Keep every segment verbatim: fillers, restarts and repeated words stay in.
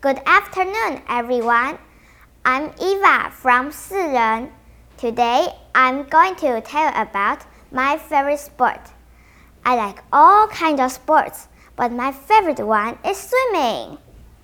Good afternoon, everyone. I'm Eva from Siren. Today, I'm going to tell you about my favorite sport. I like all kinds of sports, but my favorite one is swimming.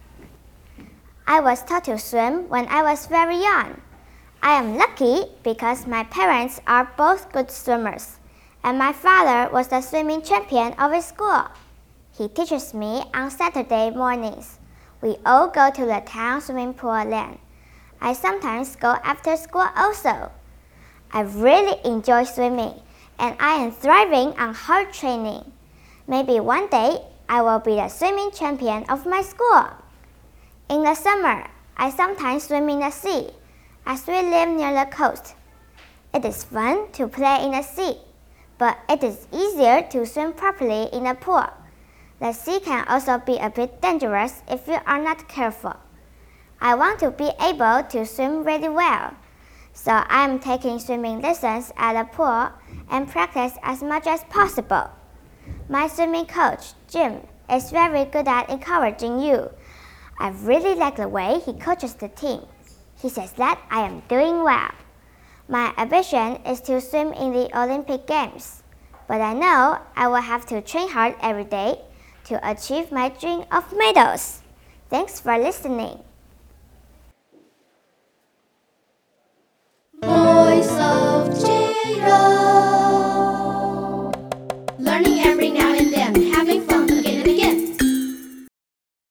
I was taught to swim when I was very young. I am lucky because my parents are both good swimmers, and my father was the swimming champion of his school. He teaches me on Saturday mornings. We all go to the town swimming pool then. I sometimes go after school also. I really enjoy swimming, and I am thriving on hard training. Maybe one day I will be the swimming champion of my school. In the summer, I sometimes swim in the sea, as we live near the coast. It is fun to play in the sea, but it is easier to swim properly in a pool. The sea can also be a bit dangerous if you are not careful. I want to be able to swim really well, so I am taking swimming lessons at the pool and practice as much as possible. My swimming coach, Jim, is very good at encouraging you. I really like the way he coaches the team. He says that I am doing well. My ambition is to swim in the Olympic Games, but I know I will have to train hard every day to achieve my dream of medals. Thanks for listening.